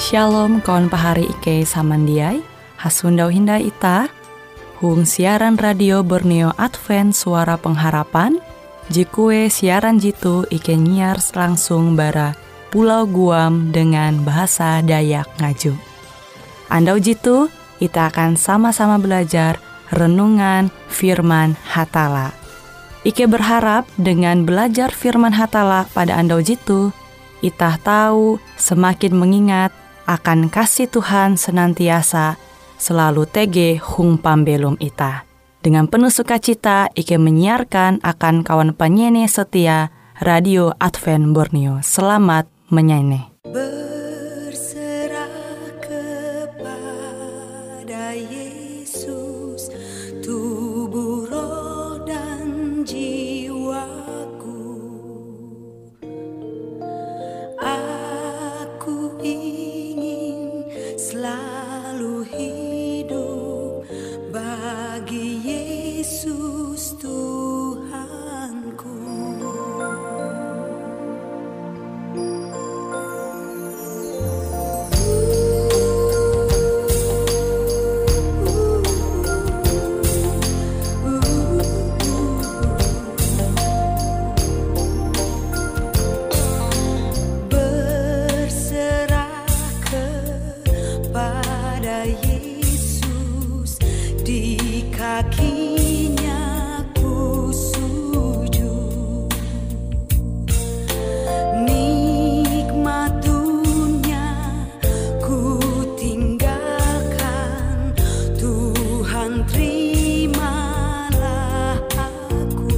Shalom kawan pahari Ike samandiai, hasundau hindai ita, hung siaran radio Borneo Advent Suara Pengharapan, jikue siaran jitu Ike nyiar langsung bara Pulau Guam dengan bahasa Dayak Ngaju. Andau jitu, kita akan sama-sama belajar renungan firman Hatala. Ike berharap dengan belajar firman Hatala pada andau jitu, itah tahu semakin mengingat akan kasih Tuhan senantiasa selalu tege hung pambelum ita. Dengan penuh sukacita, Ike menyiarkan akan kawan penyanyi setia Radio Advent Borneo. Selamat menyanyi. Berserah kepada Yesus, tubuh, roh, dan jiwaku. Aku ingin selalu hidup bagi Yesus Tuhanku. Berserah kepada Yesus, di kakinya ku sujud. Nikmat dunia ku tinggalkan, Tuhan terimalah aku.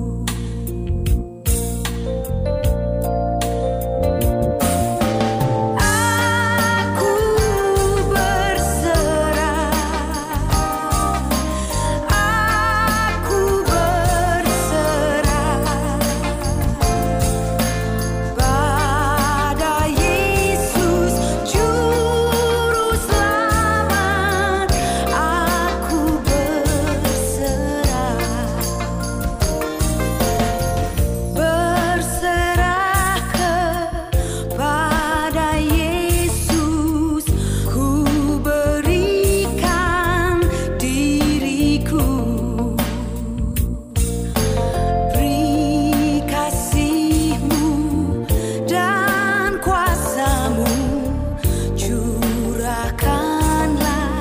Aku berserah, aku berserah pada Yesus Juru Selamat. Aku berserah kepada Yesus, ku berikan diriku. Beri kasih-Mu dan kuasa-Mu, curahkanlah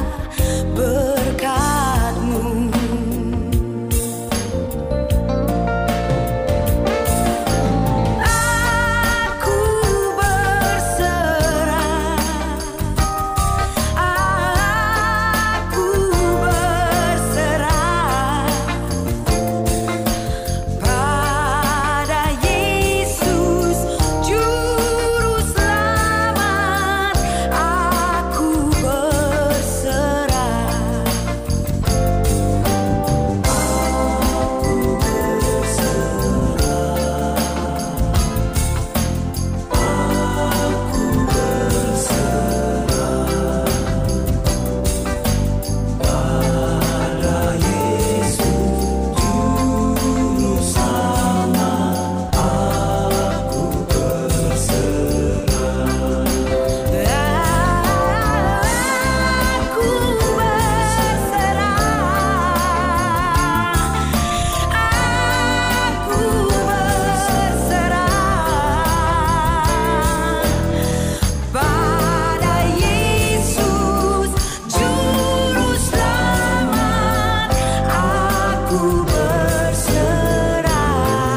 berkat-Mu. Aku berserah, aku berserah pada Yesus Juru Selamat. Aku berserah, aku berserah pada Yesus Juru Selamat. Aku berserah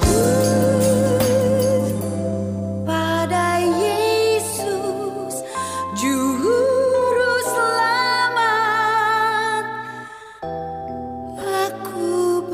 pada Yesus Juru Selamat. Aku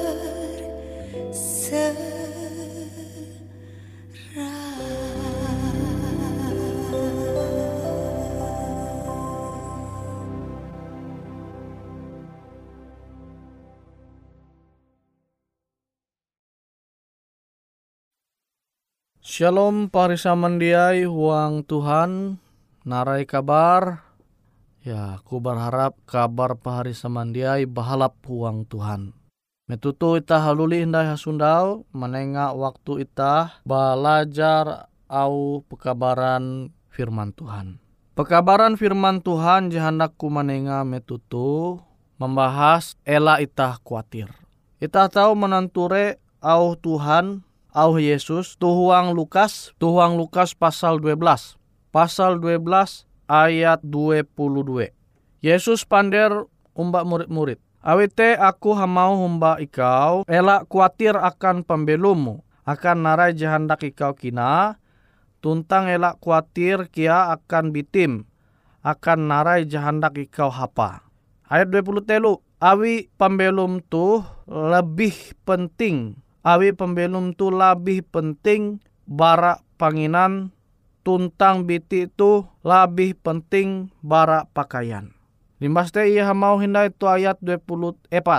Shalom parisa mandiai huang Tuhan, narai kabar. Ya, ku berharap kabar paharisa mandiai bahalap huang Tuhan. Metutu ita haluli hindai hasundau, menengah waktu ita belajar au pekabaran firman Tuhan. Pekabaran firman Tuhan jahandak kumanenga metutu membahas ela itah kuatir. Itah tahu menanture au Tuhan, au Yesus, tuhuang Lukas pasal 12. Pasal 12 ayat 22. Yesus pander umba murid-murid. Awite aku hamau humba ikau, ela kuatir akan pembelumu, akan narai jahandak ikau kina, tuntang elak kuatir kia akan bitim, akan narai jahandak ikau hapa. Ayat 23, awi pembelum tu lebih penting. Awi pembelum tu lebih penting bara panginan, tuntang biti tu lebih penting bara pakaian. Limbaste ia mau hindai tu ayat 24.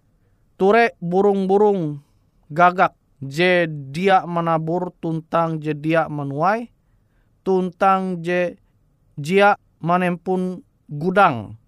Ture burung-burung gagak, je dia menabur tuntang je dia menuai, tuntang je dia menempun gudang.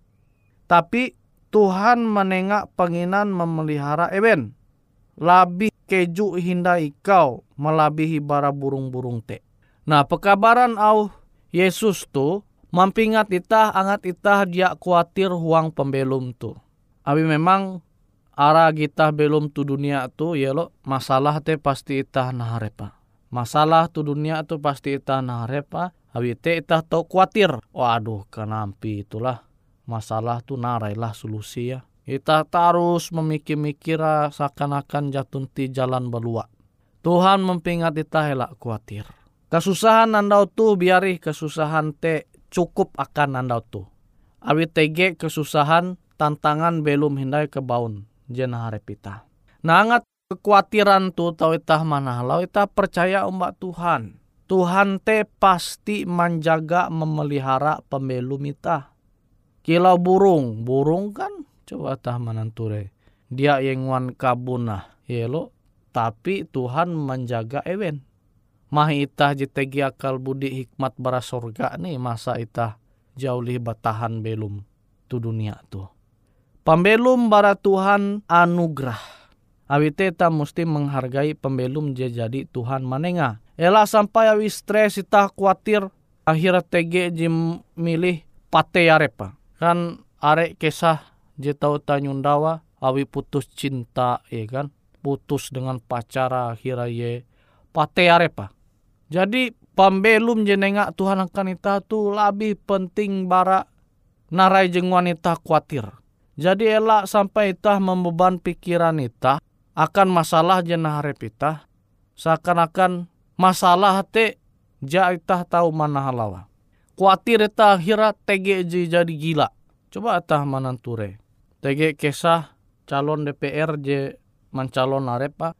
Tapi Tuhan menengak penginan memelihara eben. Labih keju hinda ikau melabihi bara burung-burung te. Nah, pekabaran au Yesus tu mampingat itah angat itah dia kuatir huang pembelum tu. Abi memang ara kita belum tu dunia tu yelo masalah te pasti itah naharepa. Masalah tu dunia tu pasti itah naharepa. Abi te itah tau kuatir. Waduh kanampi itulah. Masalah tu narailah solusi ya. Itah terus memikir-mikir seakan-akan jatun ti jalan belua. Tuhan mempingat itah elak kuatir. Kesusahan andau tu biari kesusahan te cukup akan andau tu. Abi tege kesusahan tantangan belum hindai kebaun jena harap itah. Nah angat kekuatiran tu tau itah manahalau itah percaya umbak Tuhan. Tuhan te pasti menjaga memelihara pembelum itah. Kilau burung kan coba tah mananture. Dia yang wan kabunah yelo tapi Tuhan menjaga ewen. Mah itah jitegi akal budi hikmat bara sorga nih masa itah jauh lebih batahan belum tu dunia tu. Pembelum bara Tuhan anugerah. Awite ta mesti menghargai pembelum jadi Tuhan manenga. Ela sampai awi stres itah khawatir akhirnya tege jim milih pate arepa. Kan arek kisah je tau tanyundawa awi putus cinta ya kan. Putus dengan pacara akhirnya ye pate arepa. Jadi pembelum jenenga Tuhan akan ita tu lebih penting bara narai jeng wanita khawatir. Jadi elak sampai itah membeban pikiran itah akan masalah jenah harap itah. Seakan-akan masalah te ja itah tahu mana halawa. Khawatir itah akhirat tege jadi gila. Coba itah mananture. Tege kisah calon DPR je mencalon arepa.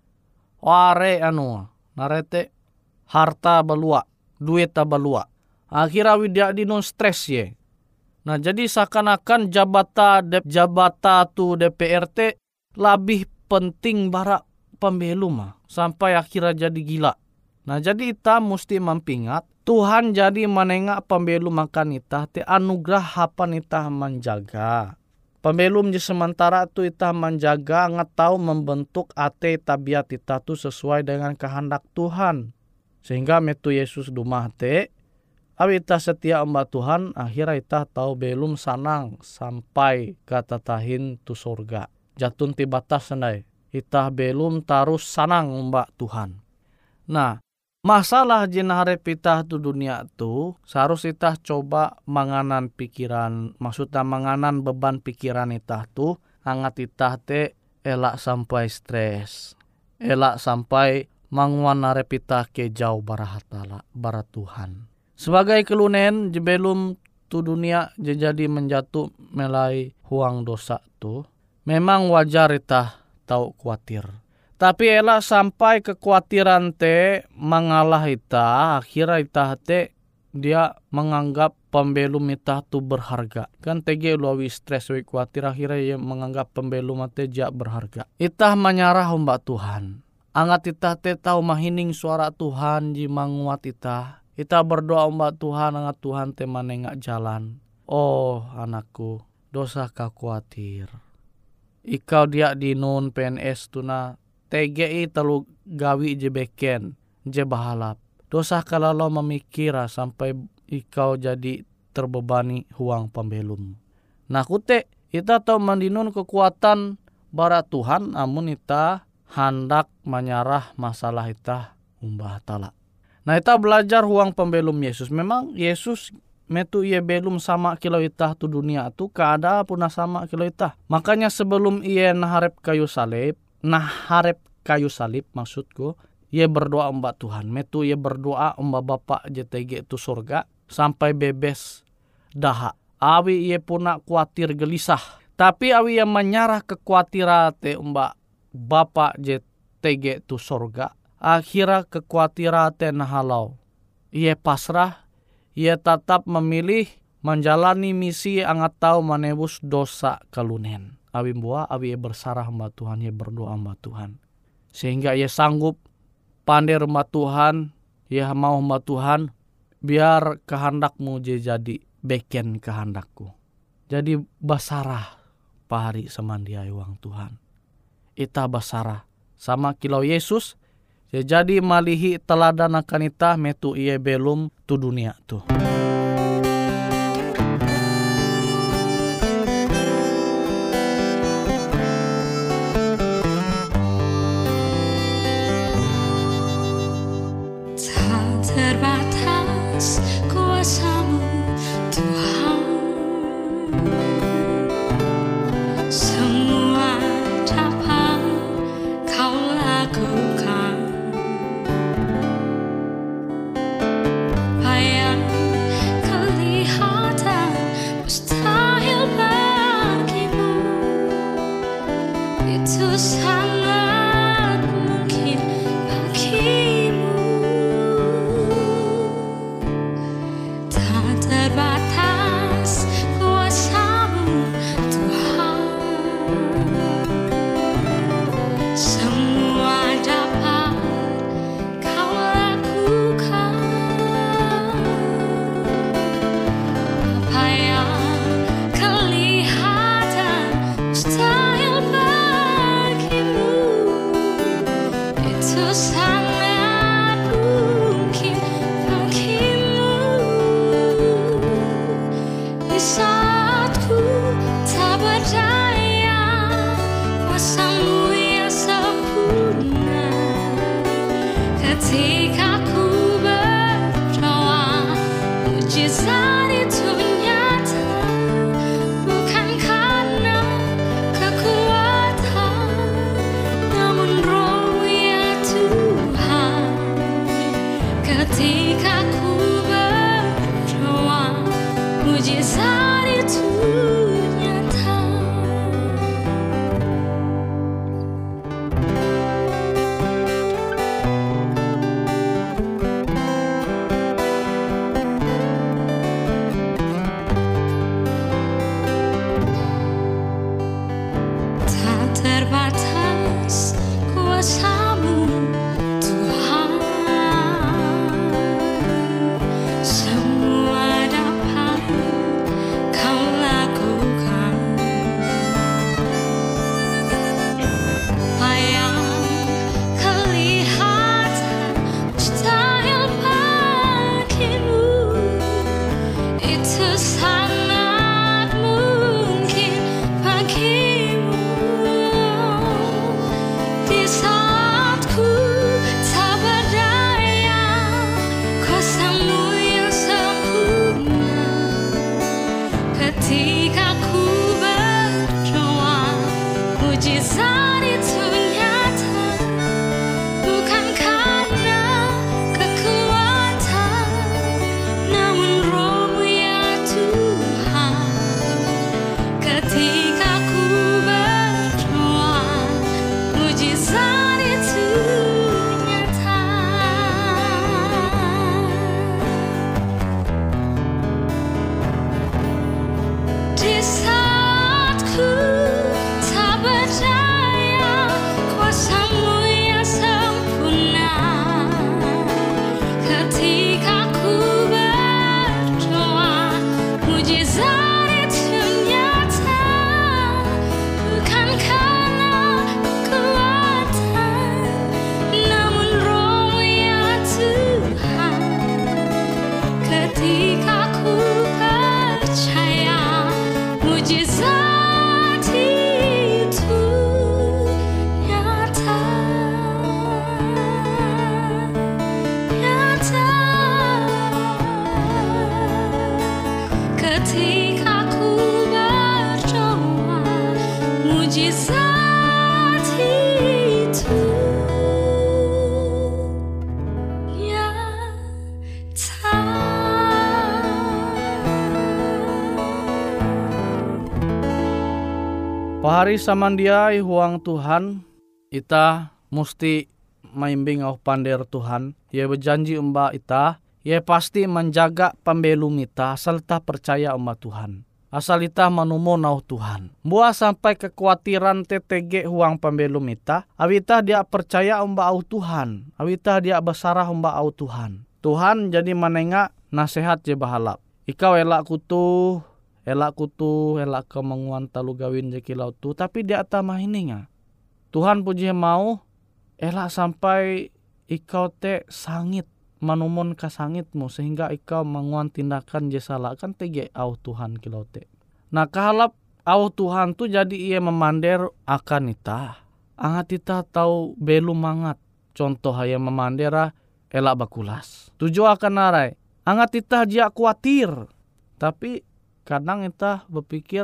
Ware narete harta balua, duit balua. Akhirnya widak di non stres ye. Nah jadi seakan-akan jabata tu DPRT lebih penting bara pembelum sampai akhirnya jadi gila. Nah jadi kita mesti mempingat Tuhan jadi menengak pembelum makan itah te anugerah hapan itah menjaga. Pembelum di sementara tu itah menjaga ngetau membentuk ate tabiat itah tu sesuai dengan kehendak Tuhan. Sehingga metu Yesus dumah te awi itah setia mbak Tuhan akhirnya itah tahu belum sanang sampai kata tahin tu surga. Jatun ti batas sendai. Itah belum tarus sanang mbak Tuhan. Nah, masalah jenah harap itah tu dunia tu seharus itah coba manganan pikiran, maksudnya manganan beban pikiran itah tu angat itah te elak sampai stres. Elak sampai manguan harap itah ke jauh barahatala bara Tuhan. Sebagai kelunen jebelum tu dunia jadi menjatuh melai huang dosa tu memang wajar itah tahu khawatir. Tapi elak sampai kekhawatiran te mengalah itah, akhirnya itah te dia menganggap pembelum itah tu berharga. Kan tege luawi stres wi khawatir akhirnya ia menganggap pembelum te jak berharga. Itah menyarah mbak Tuhan. Angat itah te tahu mahining suara Tuhan ji manguat itah. Itah berdoa mbak Tuhan angat Tuhan te manengak jalan. Oh anakku, dosa kau khawatir. Ikau dia di non PNS tuna TGI telu gawi je beken je bahalap. Dosa kalau memikira sampai ikau jadi terbebani huang pembelum. Nah kute ita tahu mandinun kekuatan bara Tuhan, amun ita hendak menyarah masalah ita umbah tala. Nah ita belajar huang pembelum Yesus. Memang Yesus metu ia belum sama kilo ita tu dunia tu keada puna sama kilo ita. Makanya sebelum ia naharep kayu salib maksudku, ia berdoa umbah Tuhan. Metu ia berdoa umbah Bapa JTG tu surga sampai bebes daha. Awi ia puna kuatir gelisah. Tapi awi yang menyarah kekhawatiran te umbah Bapa JTG tu surga. Akhirnya kekhawatiran te nahalau. Ia pasrah, ia tetap memilih menjalani misi angat tahu menebus dosa kalunen. Awi buah, awi ia bersarah umbah Tuhan, ia berdoa umbah Tuhan. Sehingga ia sanggup pandai umbah Tuhan, ia mau umbah Tuhan, biar kehendakmu jadi beken kehendakku. Jadi basarah pahari samandiai wang Tuhan. Ita basarah sama kilau Yesus. Jadi malihi teladan akan ita metu ia belum tu dunia tu. Tak terbatas kuasa-Mu Tuhan, semua dapat Kau lakukan. Apa yang kelihatan mustahil bagimu, itu sangat mungkin bagimu. Tak terbatas kuasa-Mu Tuhan, semua dapat Kau lakukan. Apa yang kelihatan mustahil bagimu, itu sangat mungkin bagimu. Di saat ku tak berdaya, kuasa-Mu yang sempurna. Ketika ku berdoa, mujizat itu nyata. Bukan karena kekuatan, namun Roh ya Tuhan. Ketika ku berdoa, mujizat itu nyata. Tak terbatas kuasa-Mu Tuhan, semua dapat Kau lakukan. Apa yang kelihatan mustahil bagimu, itu sangat mungkin bagimu. Di saat ku tak berdaya, kuasa-Mu yang sempurna. Ketika ku berdoa, mujizat itu nyata. Bukan karena kekuatan, namun Roh-Mu ya Tuhan. Ketika ku berdoa, mujizat itu nyata. Di saat ku tak berdaya, saat itu Pahari samandiai huang Tuhan, ita musti maimbing au pander Tuhan. Ia berjanji umba ita, ia pasti menjaga pembelum ita asal ita percaya umba Tuhan. Asal ita manumon au Tuhan. Buah sampai kekhawatiran TTG huang pembelum ita, awita dia percaya umba au Tuhan. Awita dia besarah umba au Tuhan. Tuhan jadi manenga nasihat je bahalap. Ikau elak kemenguan talu gawin je kilau tu, tapi dia tak mahininga. Tuhan puji mau elak sampai ikau te sangit manumon ka sangitmu sehingga ikau menguan tindakan je salah kan tege au Tuhan kilau te. Nah kahalap au Tuhan tu jadi ia memander akan ita. Angat ita tahu belum mangat. Contoh haya memandera elak bakulas. Tujuh akan narai. Angat ita dia khawatir. Tapi kadang ita berpikir,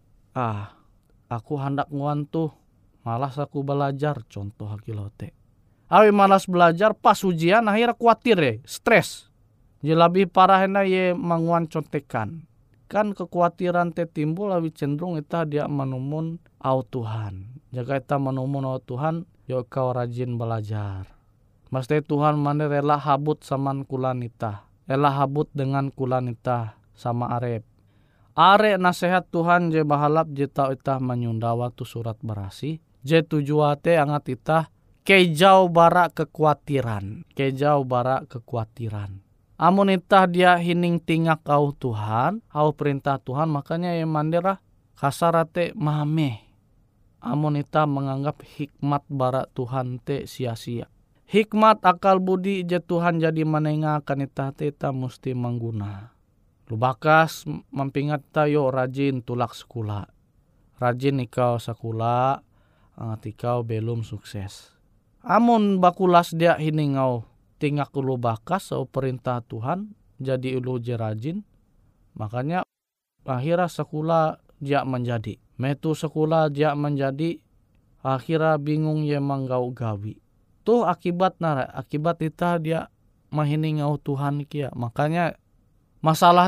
aku hendak nguan tuh, malas aku belajar, contoh hakilau te. Awi malas belajar pas ujian akhirnya khawatir stres. Jadi lebih parah ye manguan contekan. Kan kekhawatiran te timbul awi cenderung ita dia menumun au Tuhan. Jaga ita menumun au Tuhan, yo kau rajin belajar. Mesti Tuhan mana rela habut saman kulan ita. Rela habut dengan kulan ita sama arep. Are nasihat Tuhan je bahalap je tau itah menyunda waktu surat berasi. Je tujuate angat itah kejauh barak kekhawatiran. Kejauh barak kekhawatiran. Amun itah dia hining tingak au Tuhan, au perintah Tuhan, makanya yang mandera kasarate mameh. Amun itah menganggap hikmat barak Tuhan te sia-sia. Hikmat akal budi je Tuhan jadi menengah akan itah te itah mesti mengguna. Lu bakas mampingat tayo rajin tulak sekolah. Rajin ikau sekolah, angat ikau belum sukses. Amun bakulas dia hiningau tingak ulu bakas au perintah Tuhan jadi ulu je rajin. Makanya akhirnya sekolah dia menjadi. Metu sekolah dia menjadi akhirnya bingung ye manggau gawi. Tuh akibat nara, akibat ita dia mahiningau Tuhan kia. Makanya masalah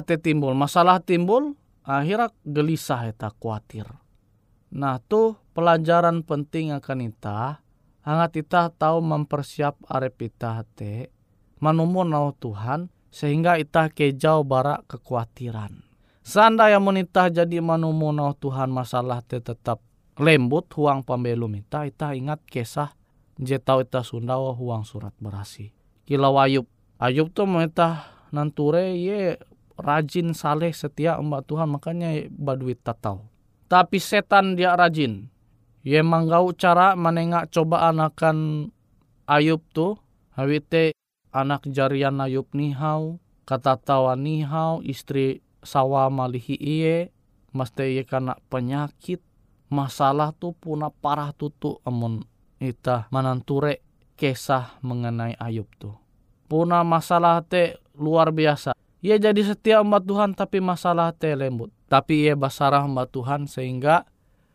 timbul, akhirnya gelisah eta khawatir. Nah tuh pelajaran penting akan ita, hangat ita tahu mempersiap arep ita te, manumun au Tuhan, sehingga ita kejauh barak kekhawatiran. Sanda yang menita jadi manumun au Tuhan masalah te tetap lembut huang pembelum ita ingat kisah je tau ita sundawa huang surat berasi. Kilau Ayub tuh menita nanture ye rajin saleh setia umat Tuhan makanya baduit tatau. Tapi setan dia rajin. Ye manggau cara menengak cobaan akan Ayub tuh. Hawite anak jarian Ayub nihau. Kata tawa nihau. Istri sawa malihi iye. Mesti ye kena penyakit. Masalah tuh puna parah tutu amun ita mananture kisah mengenai Ayub tuh. Puna masalah te luar biasa. Ia jadi setia umat Tuhan tapi masalah te lembut. Tapi ia basarah umat Tuhan sehingga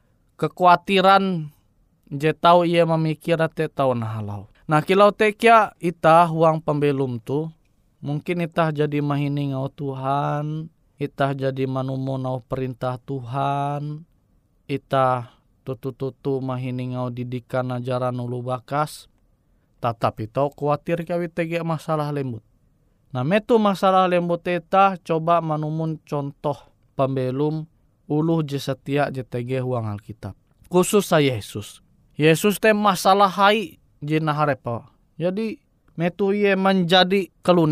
kekhawatiran je tau ia memikir te tau nahalau. Nah kilau te kia ita huang pembelum tu. Mungkin ita jadi mahining au Tuhan. Ita jadi manumun au perintah Tuhan. Ita tutu-tutu mahining au didikan ajaran ulu bakas. Tetapi tau khawatir kawit tege masalah lembut. Nah metu masalah lembut eta coba manumun contoh pembelum uluh je setia je tege huang Alkitab. Khusus saya Yesus. Yesus te masalah hai je naharepa. Jadi metu ye menjadi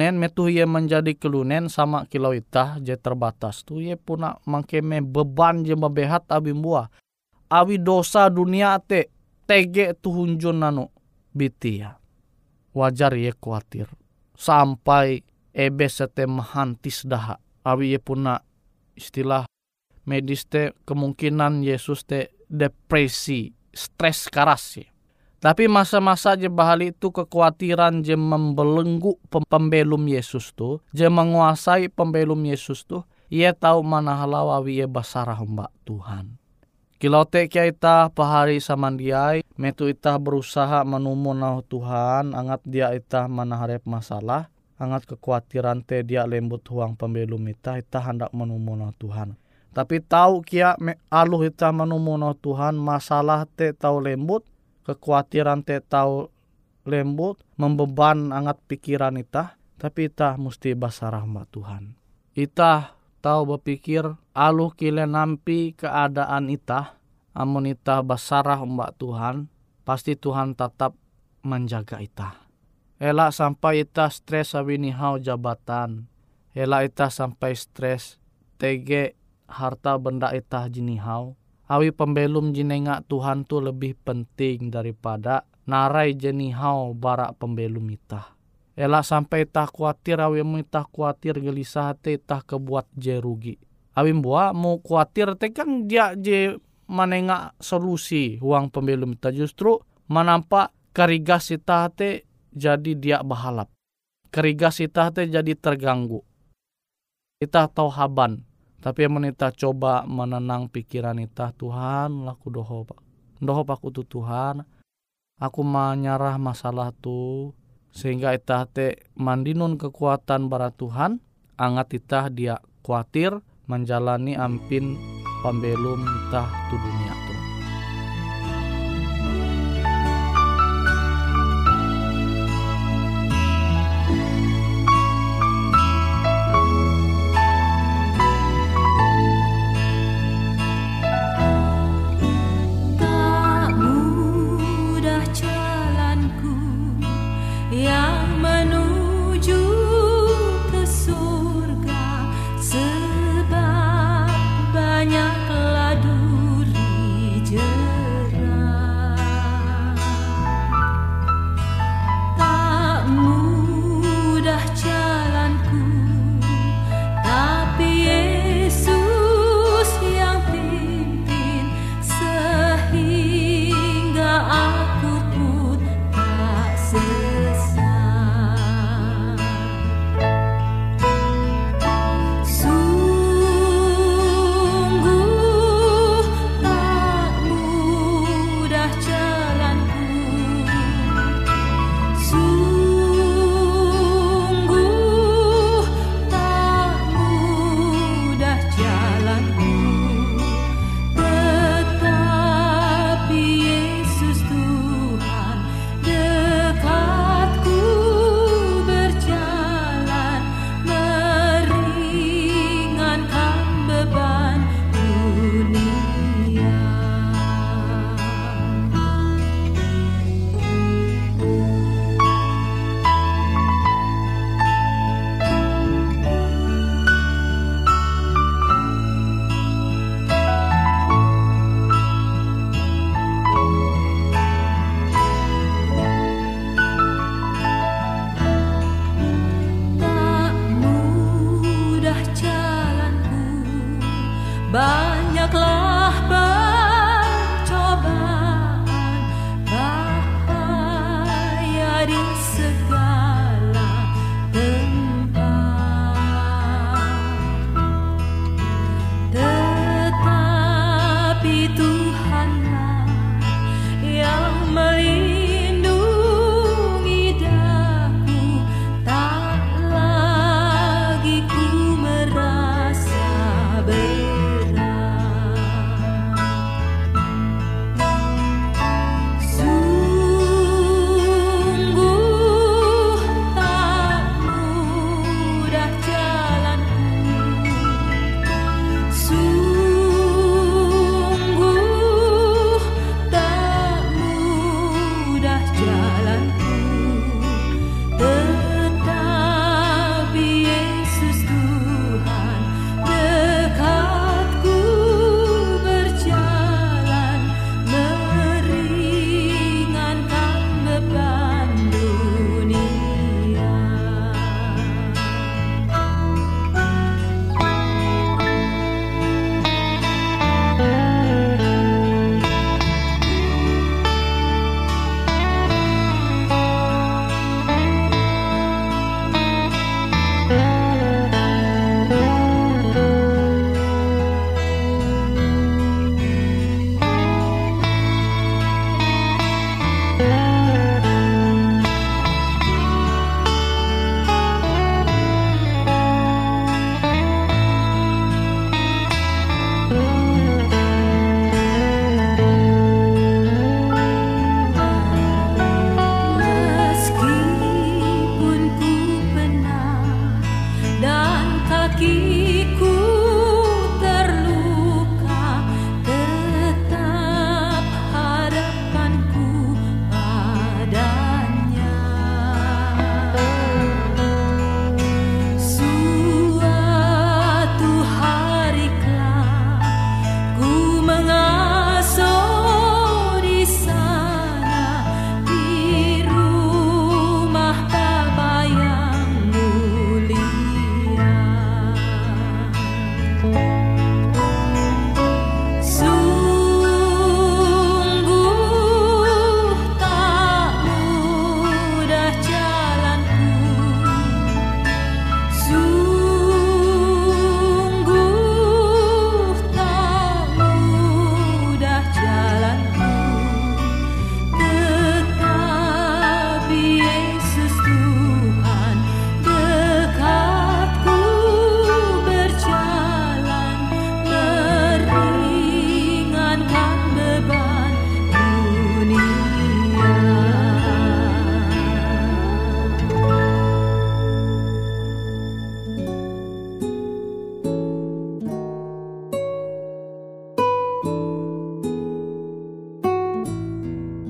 kelunen sama kilau itah je terbatas. Tu ye puna mangkeme beban je mebehat abi buah. Awi dosa dunia te tege tuhunjun nanu bitia. Wajar ye khawatir. Sampai ebe sete mahantis daha. Awi ye puna istilah medis te kemungkinan Yesus te depresi, stres karas ye. Tapi masa-masa je bahali itu kekhawatiran je membelenggu pembelum Yesus tu, je menguasai pembelum Yesus tu, ia tahu mana halau awi ye basarah mbak Tuhan. Kilau te kia ita pahari samandiai, metu ita berusaha menumun nau Tuhan, angat dia ita manaharep masalah, angat kekhawatiran te dia lembut huang pembelum ita hendak menumun nau Tuhan. Tapi tahu kia aluh ita menumun nau Tuhan, masalah te tahu lembut, kekhawatiran te tahu lembut, membeban angat pikiran ita, tapi ita mesti basarah mbak Tuhan. Ita tahu berpikir aluh kile nampi keadaan ita, amun ita basarah mbak Tuhan, pasti Tuhan tetap menjaga ita. Elak sampai ita stres awini hau jabatan, elak ita sampai stres tege harta benda ita jinihau, awi pembelum jinenga Tuhan tu lebih penting daripada narai jenihau barak pembelum ita. Elak sampai ita khawatir, awi ita khawatir gelisah te ita kebuat je rugi. Awi mbua mau khawatir te kan dia je manenga solusi huang pembelum ita, justru menampak karigas ita te jadi dia bahalap. Karigas ita te jadi terganggu. Ita tahu haban, tapi amun ita coba menenang pikiran ita, Tuhan laku dohop aku tu Tuhan, aku menyarah masalah tu, sehingga ita te mandinun kekuatan bara Tuhan, angat ita dia khawatir menjalani ampin pembelum ita tu dunia tu. Banyaklah duri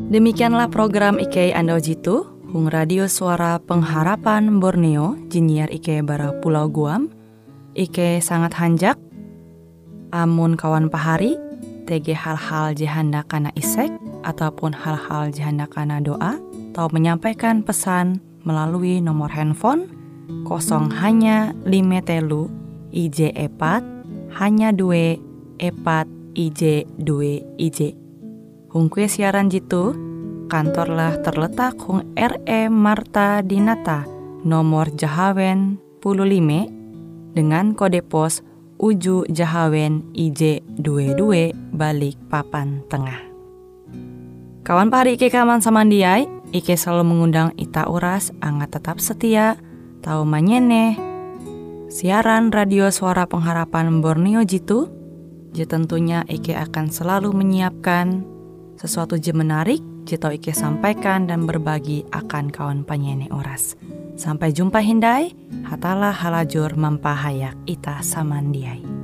Demikianlah program Ike Ando Jitu, Hung Radio Suara Pengharapan Borneo, Jinnyar Ike bara Pulau Guam. Ike sangat hanjak, amun kawan pahari, TG hal-hal jihanda kana isek, ataupun hal-hal jihanda kana doa, atau menyampaikan pesan melalui nomor handphone 0 hanya 5 telu IJ 4 hanya 2 4 IJ 2 IJ. Hung kue siaran jitu, kantorlah terletak Hung RE Marta Dinata, nomor Jahawen 15, dengan kode pos Uju Jahawen IJ 22 balik Papan Tengah. Kawan pahari Ike kaman samandiai, Ike selalu mengundang ita uras angga tetap setia, tahu manyene siaran radio Suara Pengharapan Borneo jitu. Tentunya Ike akan selalu menyiapkan sesuatu je menarik, jito Ike sampaikan dan berbagi akan kawan penyanyi oras. Sampai jumpa hindai, hatalah halajur mempahayak ita samandiai.